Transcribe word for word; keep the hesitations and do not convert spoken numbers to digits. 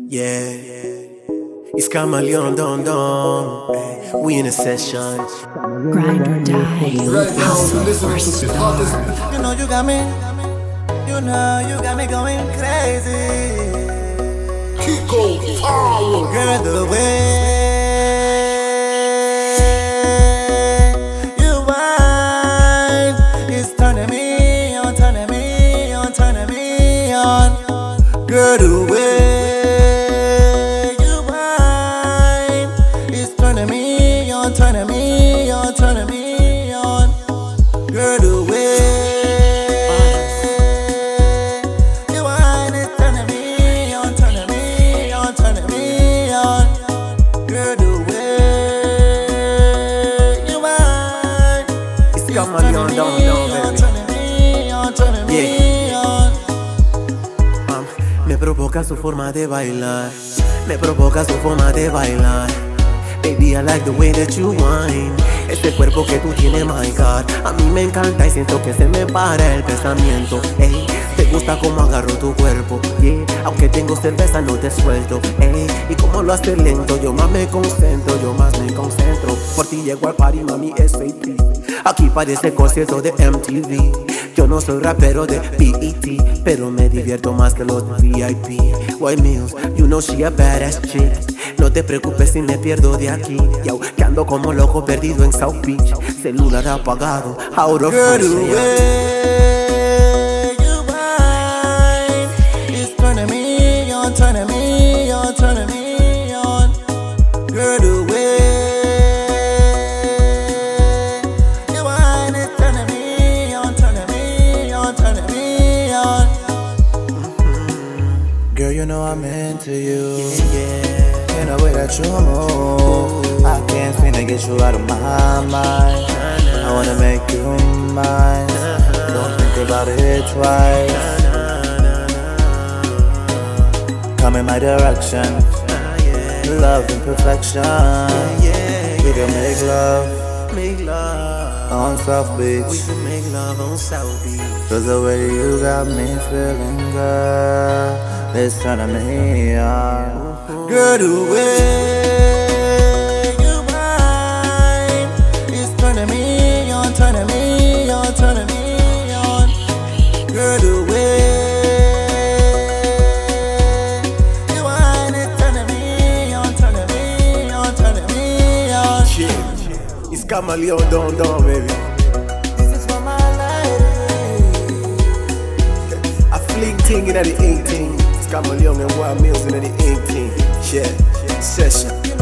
Yeah, it's Chameleon, Don Don. We in a session. Grind or die. Hustle or starve. You know you got me. You know you got me going crazy. Kiko Power. Girl, the way you whine is turning me on, turning me on, turning me on. Girl, the way you whine is turning me on, turning me on, turning me on. Girl, the way you whine is turning me on, turning me on, turning me on. Girl, the way you whine It's Chameleon, Don Don, baby. turning me on, turning me on. Um, me provoca su forma de bailar. Me provoca su forma de bailar. Baby, I like the way that you whine. Ese cuerpo que tú tienes, my God. A mí me encanta y siento que se me para el pensamiento. Ey, te gusta como agarro tu cuerpo. Yeah, aunque tengo cerveza no te suelto. Ey, y como lo haces lento, yo más me concentro, yo más me concentro. Por ti llego al party, mami, es fake. Aquí parece concierto de M T V. Yo no soy rapero de B E T, pero me divierto más que los de V I P. White Mills, you know she a badass chick. No te preocupes si me pierdo de aquí. Yo, que ando como loco perdido en South Beach. Celular apagado, out of Girl, the fresh air. way you whine is turning me on, turning me on, turning me on. Girl, the way you whine is turning me on, turning me on, turning me on. Girl, you know I'm into you. Yeah, In the way that you move, I can't seem to get you out of my mind. I wanna make you mine. Don't think about it twice. Come in my direction. Love and perfection. We can make love make love on South We Beach. can make love on South Beach. Cause the way you got me feeling, girl, it's turning me on. Girl, the way you whine is turning me on, turning me on, turning me on. Girl, the way you whine is turning me on, turning me on, turning me on. Shit, it's Chameleon, Don Don, baby. This is for my lady. I fling ting in the eighteen. It's Chameleon and Wild Mills in the eighteen. Yeah, session.